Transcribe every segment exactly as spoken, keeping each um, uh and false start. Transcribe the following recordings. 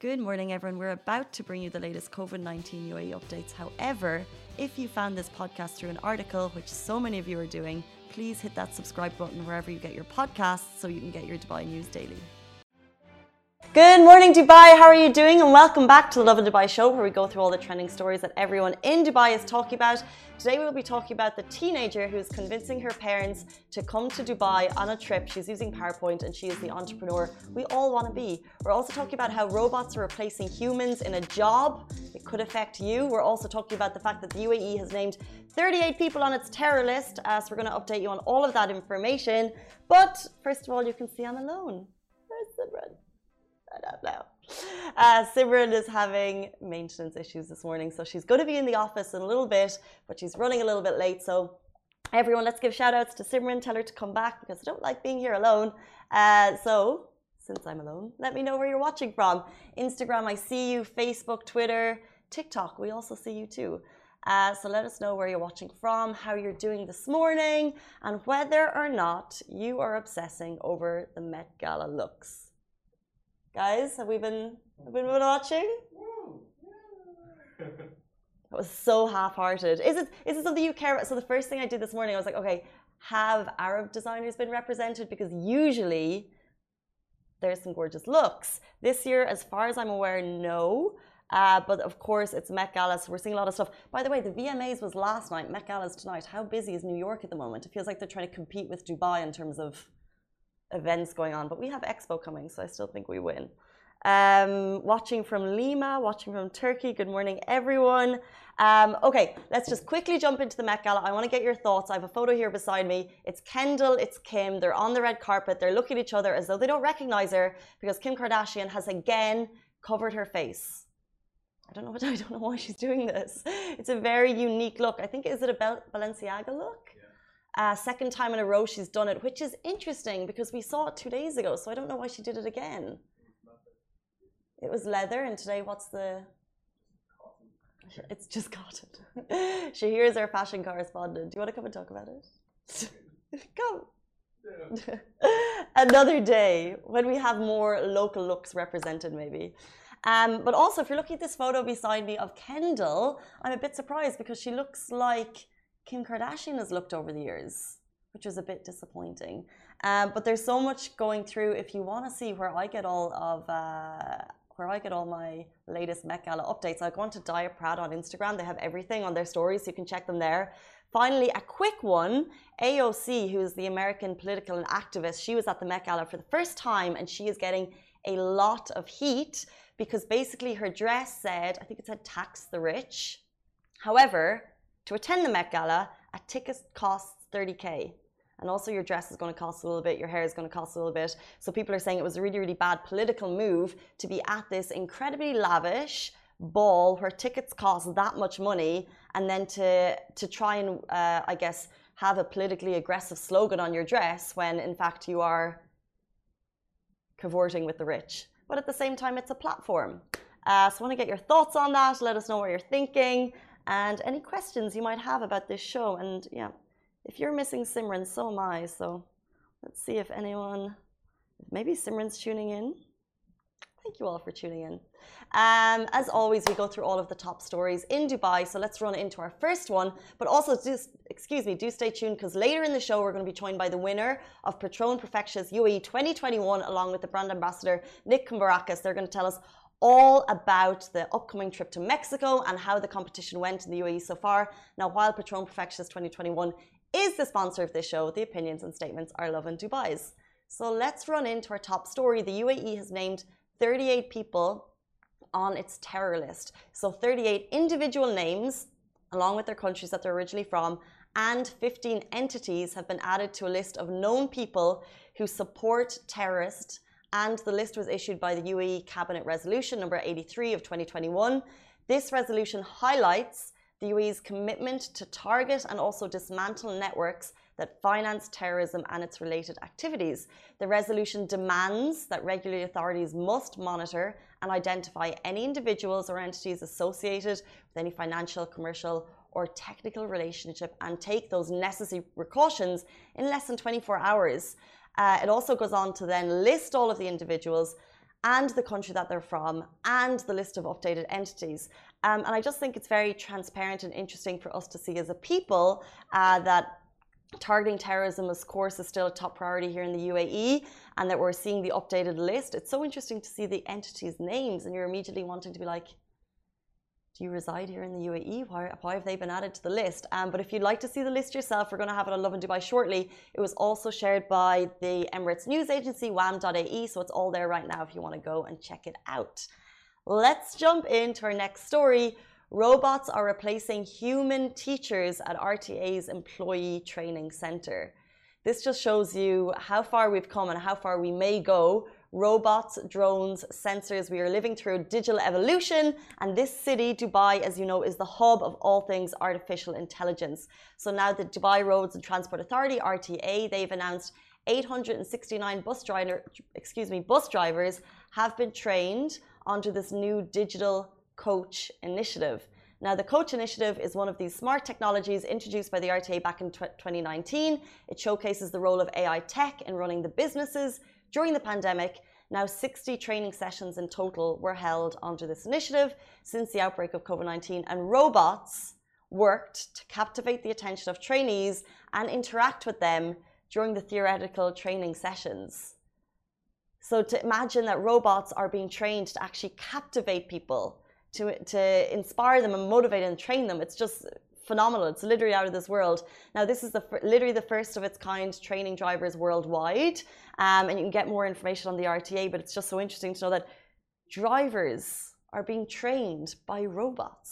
Good morning, everyone. We're about to bring you the latest COVID nineteen U A E updates. However, if you found this podcast through an article, which so many of you are doing, please hit that subscribe button wherever you get your podcasts so you can get your Dubai news daily. Good morning, Dubai. How are you doing? And welcome back to the Lovin Dubai show, where we go through all the trending stories that everyone in Dubai is talking about. Today we'll be talking about the teenager who's convincing her parents to come to Dubai on a trip. She's using PowerPoint and she is the entrepreneur we all want to be. We're also talking about how robots are replacing humans in a job. It could affect you. We're also talking about the fact that the U A E has named thirty-eight people on its terror list. Uh, so we're going to update you on all of that information. But first of all, you can see I'm alone. Where's Simran? I don't know. Uh, Simran is having maintenance issues this morning, so she's going to be in the office in a little bit, but she's running a little bit late. So everyone, let's give shout outs to Simran. Tell her to come back because I don't like being here alone. Uh, so since I'm alone, let me know where you're watching from. Instagram, I see you. Facebook, Twitter, TikTok, we also see you too. Uh, so let us know where you're watching from, how you're doing this morning, and whether or not you are obsessing over the Met Gala looks. Guys, have we been, have we been watching? That was so half-hearted. Is it, is it something you care about? So the first thing I did this morning, I was like, okay, have Arab designers been represented? Because usually there's some gorgeous looks. This year, as far as I'm aware, no. Uh, but of course, it's Met Gala, so we're seeing a lot of stuff. By the way, the V M As was last night, Met Gala's tonight. How busy is New York at the moment? It feels like they're trying to compete with Dubai in terms of events going on, but we have Expo coming, so I still think we win. Um, watching from Lima, watching from Turkey. Good morning, everyone. Um, okay, let's just quickly jump into the Met Gala. I want to get your thoughts. I have a photo here beside me. It's Kendall, it's Kim. They're on the red carpet. They're looking at each other as though they don't recognize her because Kim Kardashian has again covered her face. I don't know what, I don't know why she's doing this. It's a very unique look. I think, is it a Balenciaga look? Uh, second time in a row she's done it, which is interesting because we saw it two days ago, so I don't know why she did it again. It was leather, and today what's the... It's just cotton. Shahir is our fashion correspondent. Do you want to come and talk about it? Come. Yeah. Another day when we have more local looks represented, maybe. Um, but also, if you're looking at this photo beside me of Kendall, I'm a bit surprised because she looks like Kim Kardashian has looked over the years, which was a bit disappointing. Um, but there's so much going through. If you want to see where I get all of uh, where I get all my latest Met Gala updates, I go on to Diet Proud on Instagram. They have everything on their stories, so you can check them there. Finally, a quick one. A O C, who is the American political and activist, she was at the Met Gala for the first time, and she is getting a lot of heat because basically her dress said, I think it said tax the rich. However, to attend the Met Gala, a ticket costs thirty K. And also your dress is going to cost a little bit, your hair is going to cost a little bit. So people are saying it was a really, really bad political move to be at this incredibly lavish ball where tickets cost that much money, and then to, to try and, uh, I guess, have a politically aggressive slogan on your dress when, in fact, you are cavorting with the rich. But at the same time, it's a platform. Uh, so I want to get your thoughts on that. Let us know what you're thinking. And any questions you might have about this show. And yeah, if you're missing Simran, so am I. So let's see if anyone, maybe Simran's tuning in. Thank you all for tuning in. Um, as always, we go through all of the top stories in Dubai. So let's run into our first one. But also, do, excuse me, do stay tuned because later in the show, we're going to be joined by the winner of Patron Perfectia's U A E twenty twenty-one, along with the brand ambassador, Nick Kumbarakis. They're going to tell us all about the upcoming trip to Mexico and how the competition went in the U A E so far. Now, while Patron Perfectia's twenty twenty-one is the sponsor of this show, the opinions and statements are Lovin Dubai's. So let's run into our top story. The U A E has named thirty-eight people on its terror list. So thirty-eight individual names, along with their countries that they're originally from, and fifteen entities have been added to a list of known people who support terrorists. And the list was issued by the U A E Cabinet Resolution number eighty-three of twenty twenty-one. This resolution highlights the U A E's commitment to target and also dismantle networks that finance terrorism and its related activities. The resolution demands that regulatory authorities must monitor and identify any individuals or entities associated with any financial, commercial, or technical relationship and take those necessary precautions in less than twenty-four hours. Uh, it also goes on to then list all of the individuals and the country that they're from, and the list of updated entities. Um, and I just think it's very transparent and interesting for us to see as a people uh, that targeting terrorism, of course, is still a top priority here in the U A E, and that we're seeing the updated list. It's so interesting to see the entities' names, and you're immediately wanting to be like, do you reside here in the U A E? Why, why have they been added to the list? Um, but if you'd like to see the list yourself, we're going to have it on Lovin Dubai shortly. It was also shared by the Emirates news agency, W A M dot A E, so it's all there right now if you want to go and check it out. Let's jump into our next story. Robots are replacing human teachers at R T A's Employee Training Centre. This just shows you how far we've come and how far we may go. Robots, drones, sensors, we are living through digital evolution, and this city, Dubai, as you know, is the hub of all things artificial intelligence. So now the Dubai Roads and Transport Authority, R T A, they've announced eight hundred sixty-nine bus driver, excuse me, bus drivers have been trained onto this new digital coach initiative. Now, the coach initiative is one of these smart technologies introduced by the R T A back in twenty nineteen. It showcases the role of A I tech in running the businesses during the pandemic. Now, sixty training sessions in total were held under this initiative since the outbreak of COVID nineteen, and robots worked to captivate the attention of trainees and interact with them during the theoretical training sessions. So to imagine that robots are being trained to actually captivate people, to, to inspire them and motivate and train them, it's just phenomenal. It's literally out of this world. Now, this is the literally the first of its kind training drivers worldwide, um, and you can get more information on the R T A, but it's just so interesting to know that drivers are being trained by robots.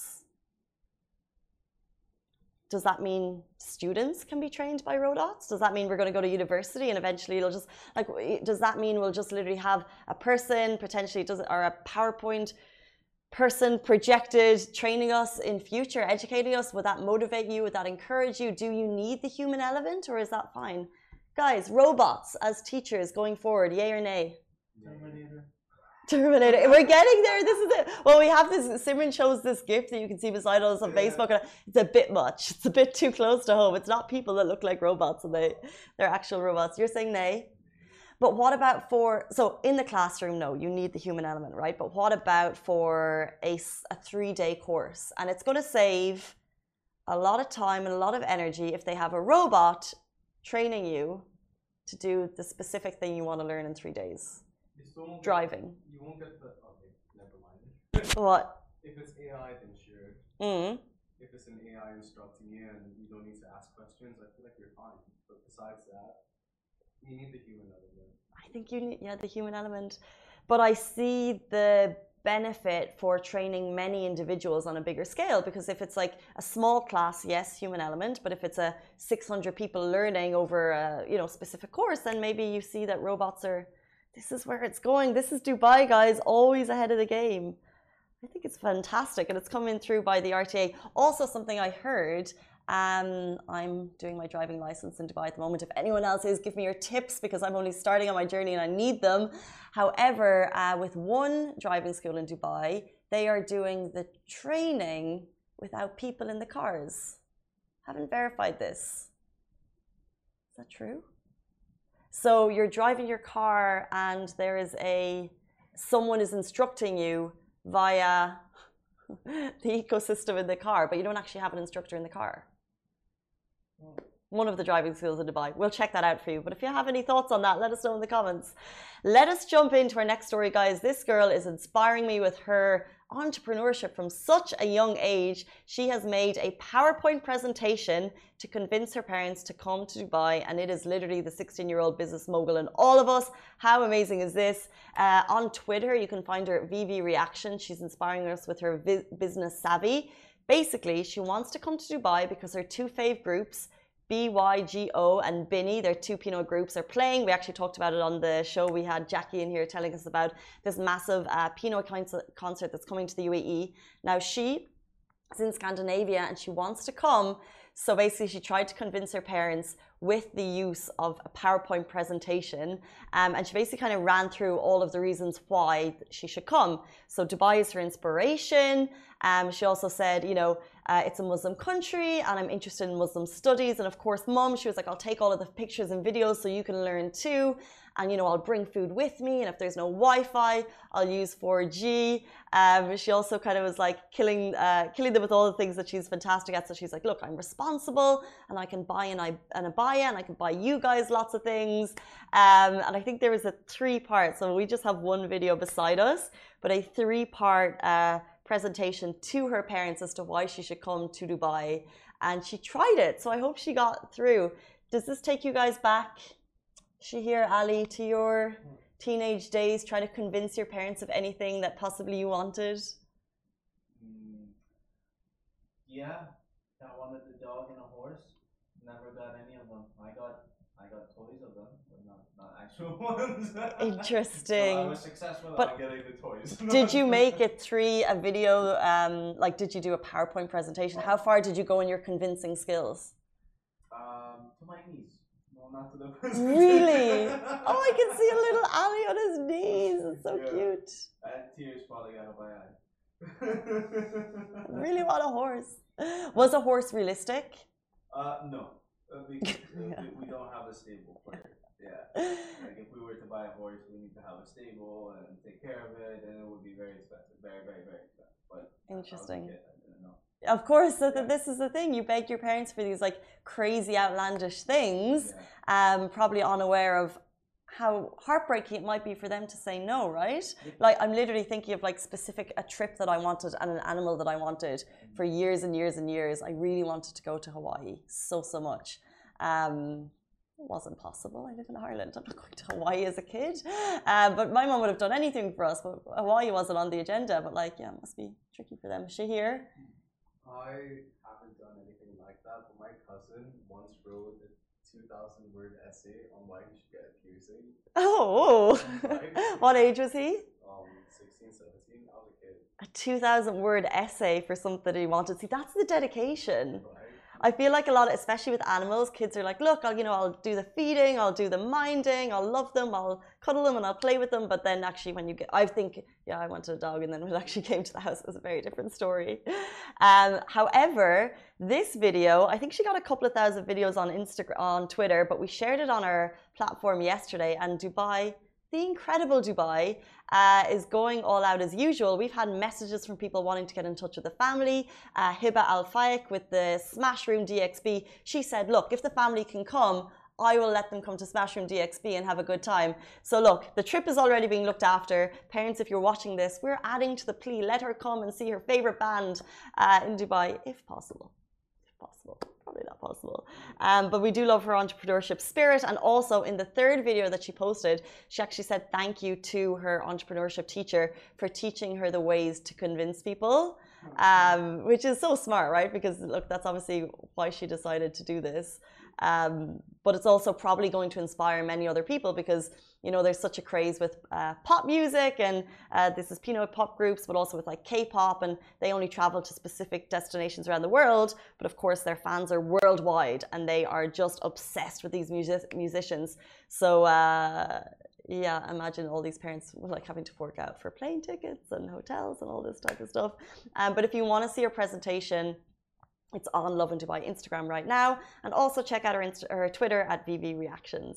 Does that mean students can be trained by robots? Does that mean we're going to go to university and eventually it'll just, like, does that mean we'll just literally have a person, potentially, does it, or a PowerPoint person projected training us in future, educating us? Would that motivate you? Would that encourage you? Do you need the human element, or is that fine? Guys, robots as teachers going forward, yay or nay? Terminator. Terminator. We're getting there. This is it. Well, we have this, Simran shows this gift that you can see beside us on yeah. Facebook, and it's a bit much. It's a bit too close to home. It's not people that look like robots, and they, they're actual robots. You're saying nay? But what about for, so in the classroom, no, you need the human element, right? But what about for a, a three-day course? And it's going to save a lot of time and a lot of energy if they have a robot training you to do the specific thing you want to learn in three days. Driving. You won't get the, okay, never mind. What? If it's A I, then sure. Mm. If it's an A I instructing you and you don't need to ask questions, I feel like you're fine. But besides that, you need the human element. I think you need, yeah, the human element. But I see the benefit for training many individuals on a bigger scale, because if it's like a small class, yes, human element, but if it's a six hundred people learning over a, you know, specific course, then maybe you see that robots are, this is where it's going. This is Dubai, guys, always ahead of the game. I think it's fantastic, and it's coming through by the R T A. Also, something I heard, Um, I'm doing my driving license in Dubai at the moment. If anyone else is, give me your tips, because I'm only starting on my journey and I need them. However, uh, with one driving school in Dubai, they are doing the training without people in the cars. Haven't verified this. Is that true? So you're driving your car and there is a, someone is instructing you via the ecosystem in the car, but you don't actually have an instructor in the car. One of the driving schools in Dubai. We'll check that out for you. But if you have any thoughts on that, let us know in the comments. Let us jump into our next story, guys. This girl is inspiring me with her entrepreneurship from such a young age. She has made a PowerPoint presentation to convince her parents to come to Dubai, and it is literally the sixteen-year-old business mogul in all of us. How amazing is this? Uh, on Twitter, you can find her at V V Reaction. She's inspiring us with her business savvy. Basically, she wants to come to Dubai because her two fave groups, B Y G O and Binny, their two Pinot groups, are playing. We actually talked about it on the show. We had Jackie in here telling us about this massive uh, Pinot concert that's coming to the U A E. Now, she is in Scandinavia and she wants to come. So basically, she tried to convince her parents with the use of a PowerPoint presentation. Um, and she basically kind of ran through all of the reasons why she should come. So Dubai is her inspiration. Um, she also said, you know, uh, it's a Muslim country and I'm interested in Muslim studies. And of course, mom, she was like, I'll take all of the pictures and videos so you can learn too. and you know, I'll bring food with me, and if there's no Wi-Fi, I'll use four G. Um, she also kind of was like killing uh, killing them with all the things that she's fantastic at. So she's like, look, I'm responsible, and I can buy an, an abaya, and I can buy you guys lots of things. Um, and I think there was a three-part, so we just have one video beside us, but a three-part uh, presentation to her parents as to why she should come to Dubai. And she tried it, so I hope she got through. Does this take you guys back, Shahir, Ali, to your teenage days, trying to convince your parents of anything that possibly you wanted? Mm, yeah, I wanted a dog and a horse. Never got any of them. I got I got toys of them, but not, not actual ones. Interesting. So I was successful but at getting the toys. Did you make it through a video? Um, like, did you do a PowerPoint presentation? How far did you go in your convincing skills? Um, to my knees. No, not to the Really? Oh, I can see a little Ali on his knees. It's so yeah. cute. I had tears falling out of my eyes. Really want a horse. Was a horse realistic? Uh, no. Uh, because, uh, we, we don't have a stable for it. Yeah. Like if we were to buy a horse, we need to have a stable and take care of it, and it would be very expensive. Very, very, very expensive. But interesting. I was a kid, I didn't know. Of course, so Yeah. this is the thing. You beg your parents for these like crazy, outlandish things, Yeah. um, probably unaware of how heartbreaking it might be for them to say no, right? Like I'm literally thinking of like specific a trip that I wanted and an animal that I wanted for years and years and years. I really wanted to go to Hawaii so so much. Um, it wasn't possible. I live in Ireland. I'm not going to Hawaii as a kid. Uh, but my mom would have done anything for us. But Hawaii wasn't on the agenda. But like, yeah, it must be tricky for them. Shahir? I haven't done anything like that, but my cousin once wrote a two thousand word essay on why he should get a piercing. Oh, what age was he? Um, sixteen, seventeen, I was a kid. A two thousand word essay for something he wanted. See, that's the dedication. Right? I feel like a lot, especially with animals, kids are like, look, I'll, you know, I'll do the feeding, I'll do the minding, I'll love them, I'll cuddle them and I'll play with them. But then actually when you get, I think, yeah, I wanted a dog, and then when it actually came to the house, it was a very different story. Um, however, this video, I think she got a couple of thousand videos on Instagram, on Twitter, but we shared it on our platform yesterday, and Dubai, the incredible Dubai, uh, is going all out as usual. We've had messages from people wanting to get in touch with the family. Uh, Hiba Al Fayek with the Smash Room D X B, she said, look, if the family can come, I will let them come to Smash Room D X B and have a good time. So look, the trip is already being looked after. Parents, if you're watching this, we're adding to the plea. Let her come and see her favorite band uh, in Dubai, if possible. If possible. Probably not possible. Um, but we do love her entrepreneurship spirit. And also in the third video that she posted, she actually said thank you to her entrepreneurship teacher for teaching her the ways to convince people, um, which is so smart, right? Because look, that's obviously why she decided to do this. Um, but it's also probably going to inspire many other people because, you know, there's such a craze with uh, pop music, and uh, this is Pinoy pop groups, but also with like K-pop, and they only travel to specific destinations around the world. But of course, their fans are worldwide, and they are just obsessed with these music musicians. So uh, yeah, imagine all these parents like having to fork out for plane tickets and hotels and all this type of stuff. Um, but if you want to see her presentation, it's on Lovin Dubai Instagram right now, and also check out her, Insta her Twitter at V V Reactions.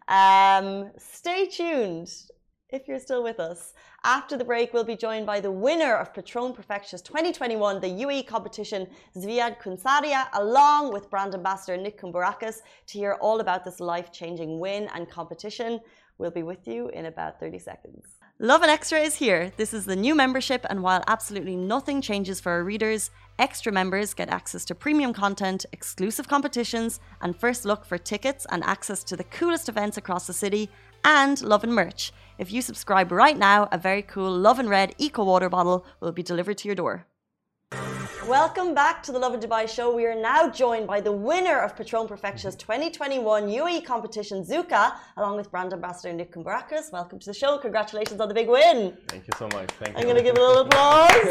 Um, stay tuned if you're still with us. After the break, we'll be joined by the winner of Patron Perfectious twenty twenty-one, the U A E competition, Zviad Kunsaria, along with brand ambassador Nick Kumbarakis, to hear all about this life-changing win and competition. We'll be with you in about thirty seconds. Lovin Extra is here. This is the new membership, and while absolutely nothing changes for our readers, extra members get access to premium content, exclusive competitions, and first look for tickets and access to the coolest events across the city, and Lovin merch. If you subscribe right now, a very cool Lovin Red Eco Water bottle will be delivered to your door. Welcome back to the Lovin Dubai show. We are now joined by the winner of Patron Perfectious twenty twenty-one U A E competition, Zuka, along with brand ambassador Nick Kumbarakis. Welcome to the show. Congratulations on the big win. Thank you so much. Thank I'm you. going to give a little applause.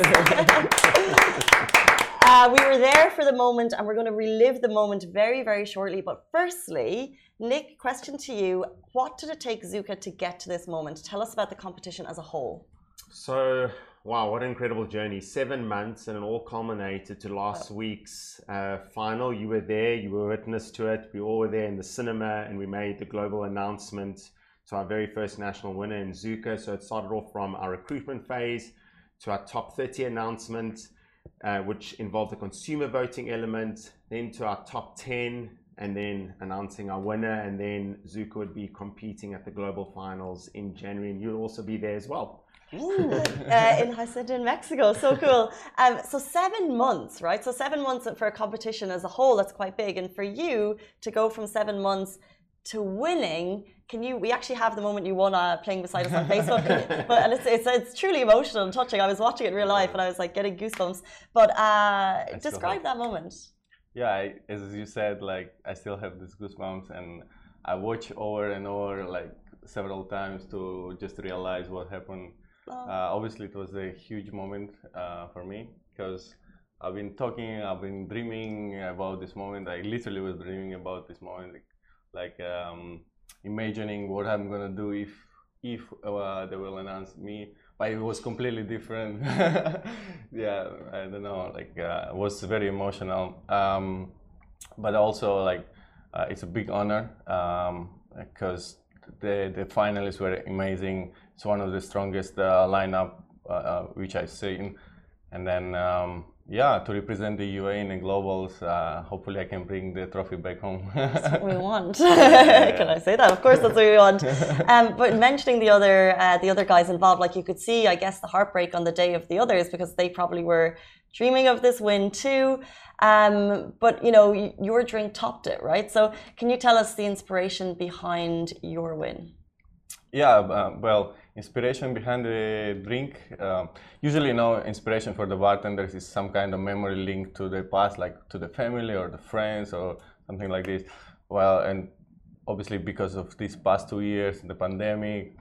uh, we were there for the moment, and we're going to relive the moment very, very shortly. But firstly, Nick, question to you. What did it take Zuka to get to this moment? Tell us about the competition as a whole. So, wow, what an incredible journey. Seven months, and it all culminated to last oh. week's uh, final. You were there, you were witness to it. We all were there in the cinema, and we made the global announcement to our very first national winner in Zuka. So it started off from our recruitment phase to our top thirty announcement, uh, which involved a consumer voting element, then to our top ten, and then announcing our winner. And then Zuka would be competing at the global finals in January, and you'll also be there as well. Ooh, uh, in Hacienda in Mexico, so cool. Um, so seven months, right? So seven months for a competition as a whole, that's quite big. And for you to go from seven months to winning, can you? We actually have the moment you won uh, playing beside us on Facebook, but and it's, it's it's truly emotional and touching. I was watching it in real life and I was like getting goosebumps. But uh, describe that moment. Yeah, I, as you said, like I still have these goosebumps, and I watch over and over like several times to just realize what happened. Uh, obviously, it was a huge moment uh, for me because I've been talking, I've been dreaming about this moment. I literally was dreaming about this moment, like, like um, imagining what I'm gonna do if if uh, they will announce me. But it was completely different. Yeah, I don't know. Like, uh, it was very emotional, um, but also like uh, it's a big honor because um, the the finalists were amazing. It's one of the strongest uh, lineup uh, uh, which I've seen, and then um, yeah, to represent the U A in the globals, uh, hopefully I can bring the trophy back home. That's what we want. Can I say that? Of course, that's what we want. Um, but mentioning the other uh, the other guys involved, like you could see, I guess, the heartbreak on the day of the others because they probably were dreaming of this win too. Um, but you know, your drink topped it, right? So can you tell us the inspiration behind your win? Yeah, uh, well, inspiration behind the drink. Uh, usually, you know, inspiration for the bartenders is some kind of memory linked to the past, like to the family or the friends or something like this. Well, and obviously because of these past two years, the pandemic,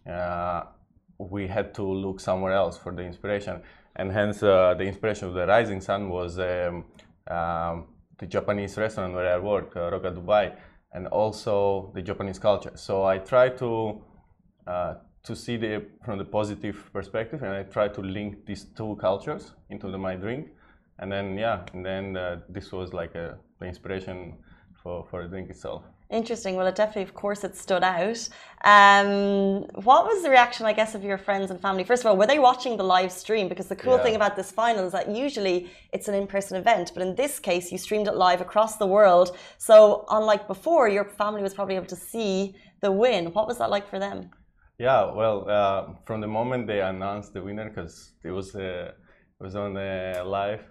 uh, we had to look somewhere else for the inspiration. And hence, uh, the inspiration of the Rising Sun was um, um, the Japanese restaurant where I work, uh, Roca Dubai, and also the Japanese culture. So I try to Uh, to see the from the positive perspective, and I try to link these two cultures into the, my drink, and then yeah, and then uh, this was like a, the inspiration for for the drink itself. Interesting. Well, it definitely, of course, it stood out. Um, what was the reaction, I guess, of your friends and family? First of all, were they watching the live stream? Because the cool yeah. thing about this final is that usually it's an in-person event, but in this case, you streamed it live across the world. So, unlike before, your family was probably able to see the win. What was that like for them? Yeah, well, uh, from the moment they announced the winner, because it was uh, it was on uh, live,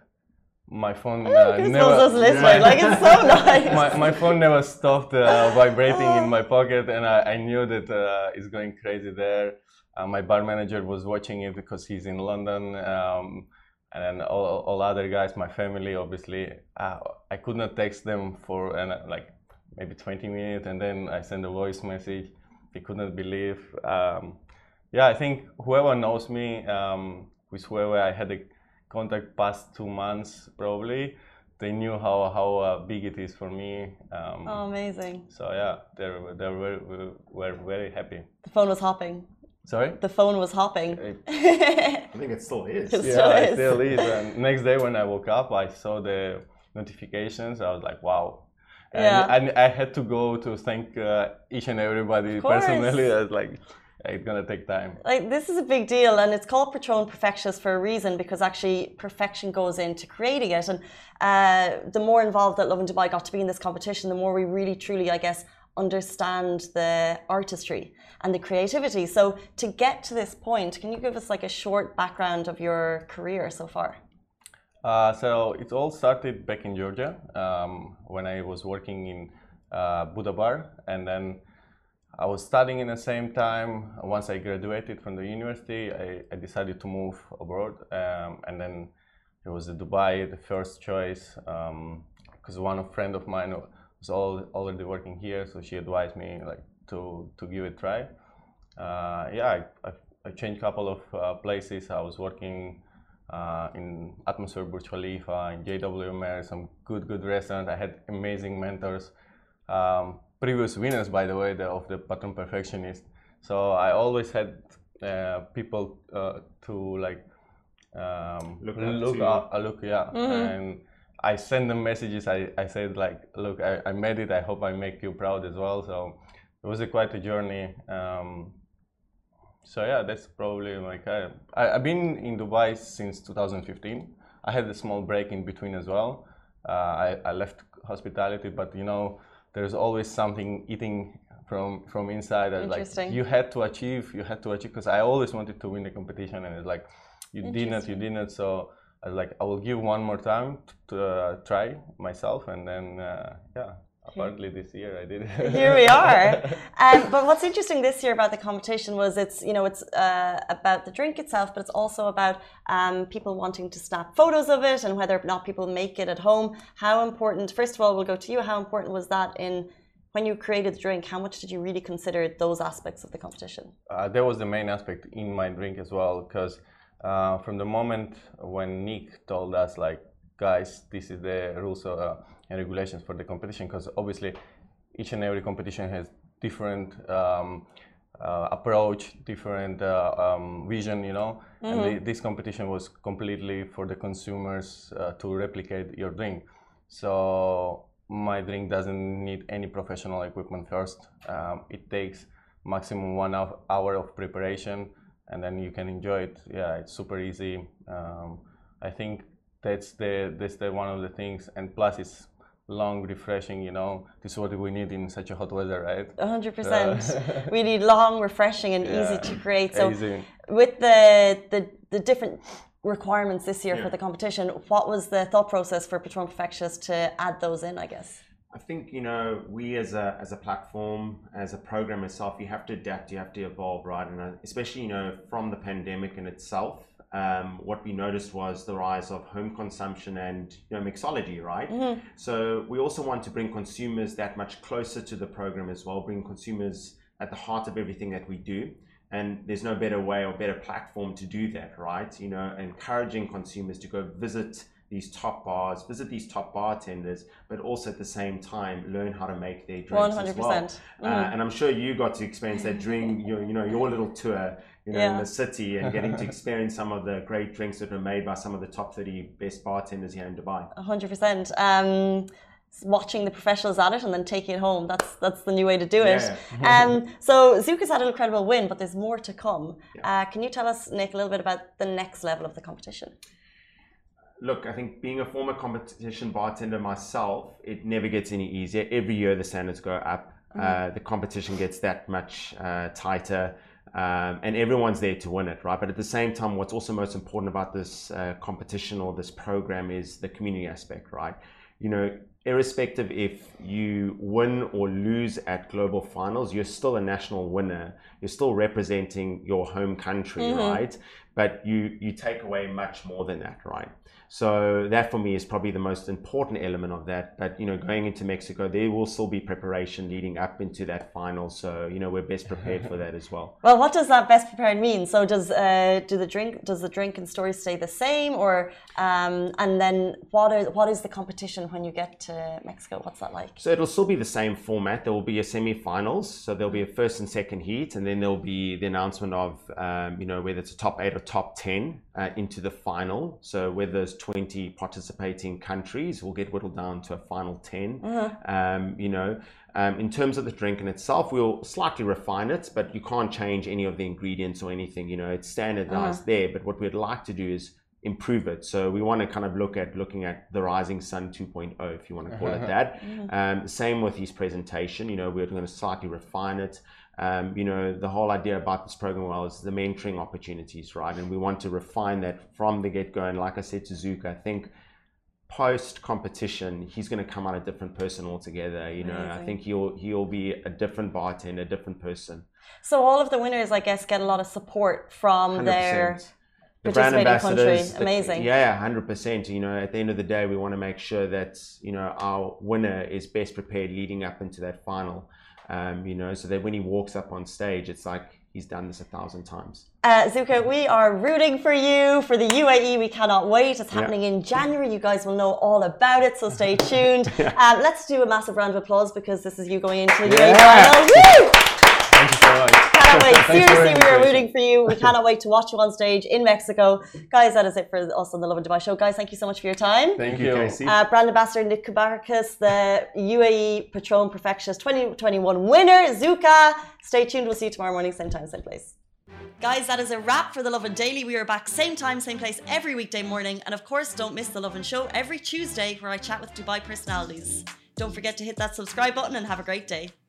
my phone uh, never. My, like it's so nice. my my phone never stopped uh, vibrating in my pocket, and I, I knew that uh, it's going crazy there. Uh, my bar manager was watching it because he's in London, um, and then all, all other guys, my family, obviously. Uh, I could not text them for uh, like maybe twenty minutes, and then I sent a voice message. They couldn't believe. Um, yeah, I think whoever knows me, um, with whoever I had a contact past two months, probably, they knew how how uh, big it is for me. Um, oh, amazing! So yeah, they were they were were very happy. The phone was hopping. Sorry? The phone was hopping. I think it still is. It yeah, still it is. still is. And next day when I woke up, I saw the notifications. I was like, wow. And, yeah. and I had to go to thank uh, each and everybody personally. I was like, it's gonna take time. Like this is a big deal, and it's called Patron Perfectionist for a reason because actually perfection goes into creating it. And uh, the more involved that Lovin Dubai got to be in this competition, the more we really, truly, I guess, understand the artistry and the creativity. So to get to this point, can you give us like a short background of your career so far? Uh, so it all started back in Georgia um, when I was working in uh, Buddha Bar, and then I was studying in the same time. Once I graduated from the university, I, I decided to move abroad, um, and then it was Dubai, the first choice, because um, one of friend of mine was all, already working here, so she advised me like to to give it a try. Uh, yeah, I, I, I changed a couple of uh, places. I was working Uh, in Atmosphere Burj Khalifa, in J W Marriott, some good, good restaurants. I had amazing mentors, um, previous winners, by the way, the, of the Patron Perfectionist. So I always had uh, people uh, to like um, look, look, up, uh, look, yeah. Mm-hmm. And I send them messages. I, I said like, look, I, I made it. I hope I make you proud as well. So it was a quite a journey. Um, so yeah, that's probably my career. I, I've been in Dubai since two thousand fifteen. I had a small break in between as well. Uh, I, I left hospitality, but you know, there's always something eating from from inside. That like you had to achieve, you had to achieve. Because I always wanted to win the competition, and it's like you didn't, you didn't. So I was like, I will give one more time to uh, try myself, and then uh, yeah. Apparently this year I did it. Here we are. Um, but what's interesting this year about the competition was it's, you know, it's uh, about the drink itself, but it's also about um, people wanting to snap photos of it and whether or not people make it at home. How important, first of all, we'll go to you. How important was that in when you created the drink? How much did you really consider those aspects of the competition? Uh, that was the main aspect in my drink as well, because uh, from the moment when Nick told us, like, guys, this is the rules of, uh, and regulations for the competition, because obviously each and every competition has different um, uh, approach, different uh, um, vision, you know. Mm-hmm. And the, this competition was completely for the consumers uh, to replicate your drink. So my drink doesn't need any professional equipment first. Um, it takes maximum one hour of preparation, and then you can enjoy it. Yeah, it's super easy. Um, I think that's the that's the one of the things, and plus it's long, refreshing, you know. This is what we need in such a hot weather, right? one hundred percent. Uh, we need long, refreshing, and yeah, easy to create. So easy. With the, the the different requirements this year yeah. for the competition, what was the thought process for Patron Perfectionist to add those in, I guess? I think, you know, we as a as a platform, as a program itself, you have to adapt, you have to evolve, right? And especially, you know, from the pandemic in itself, Um, what we noticed was the rise of home consumption and, you know, mixology, right? Mm-hmm. So we also want to bring consumers that much closer to the program as well, bring consumers at the heart of everything that we do. And there's no better way or better platform to do that, right? You know, encouraging consumers to go visit these top bars, visit these top bartenders, but also at the same time learn how to make their drinks one hundred percent. as well. Mm-hmm. Uh, and I'm sure you got to experience that during your, you know, your little tour, you know, yeah. in the city, and getting to experience some of the great drinks that were made by some of the top thirty best bartenders here in Dubai. one hundred percent. Um, watching the professionals at it and then taking it home, that's that's the new way to do it. Yeah. um, so Zuka's had an incredible win, but there's more to come. Yeah. Uh, can you tell us, Nick, a little bit about the next level of the competition? Look, I think being a former competition bartender myself, it never gets any easier. Every year the standards go up. Mm-hmm. uh, the competition gets that much uh, tighter. Um, and everyone's there to win it, right? But at the same time, what's also most important about this uh, competition or this program is the community aspect, right? You know, irrespective if you win or lose at global finals, you're still a national winner. You're still representing your home country, mm-hmm. right? But you, you take away much more than that, right? So that for me is probably the most important element of that. But, you know, going into Mexico, there will still be preparation leading up into that final. So, you know, we're best prepared for that as well. Well, what does that best prepared mean? So does uh, do the drink does the drink and story stay the same, or um, and then what are what is the competition when you get to Mexico? What's that like? So it'll still be the same format. There will be a semi-finals. So there'll be a first and second heat, and then there'll be the announcement of um, you know, whether it's a top eight or top ten uh, into the final. So whether there's twenty participating countries, will get whittled down to a final ten. Mm-hmm. Um, you know, um, in terms of the drink in itself, we'll slightly refine it, but you can't change any of the ingredients or anything. You know, it's standardized mm-hmm. there. But what we'd like to do is improve it. So we want to kind of look at looking at the Rising Sun two point oh, if you want to call it that. Mm-hmm. Um, same with his presentation. You know, we're going to slightly refine it. Um, you know, the whole idea about this program well is the mentoring opportunities, right? And we want to refine that from the get-go. And like I said to Zuka, I think post-competition, he's going to come out a different person altogether. You know, Amazing. I think he'll he'll be a different bartender, a different person. So all of the winners, I guess, get a lot of support from one hundred percent. their the brand ambassadors. Country. Amazing. The, yeah, one hundred percent. You know, at the end of the day, we want to make sure that, you know, our winner is best prepared leading up into that final. Um, you know, so that when he walks up on stage, it's like he's done this a thousand times. Uh, Zuka, we are rooting for you for the U A E. We cannot wait. It's happening yeah. in January. You guys will know all about it, so stay tuned. yeah. um, let's do a massive round of applause because this is you going into the yeah. U A E final. Woo! Thank you so much. can't wait. Thanks for Seriously, your we are invitation. rooting for you. We cannot wait to watch you on stage in Mexico. Guys, that is it for us on the Lovin Dubai show. Guys, thank you so much for your time. Thank Thank you, you. Casey. Uh, brand ambassador Nick Kubarkas, the U A E Patron Perfectionist twenty twenty-one winner, Zuka. Stay tuned. We'll see you tomorrow morning, same time, same place. Guys, that is a wrap for The Lovin Daily. We are back same time, same place every weekday morning. And of course, don't miss The Lovin Show every Tuesday where I chat with Dubai personalities. Don't forget to hit that subscribe button and have a great day.